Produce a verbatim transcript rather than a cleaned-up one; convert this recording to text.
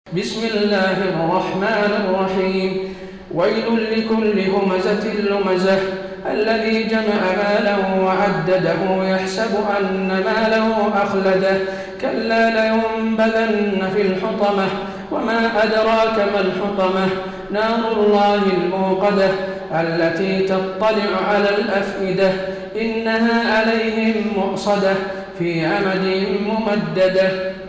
بسم الله الرحمن الرحيم ويل لكل همزة لمزة الذي جمع ماله وعدده يحسب أن ماله أخلده كلا لينبذن في الحطمة وما أدراك ما الحطمة نار الله الموقدة التي تطلع على الأفئدة إنها عليهم مؤصدة في أمد ممددة.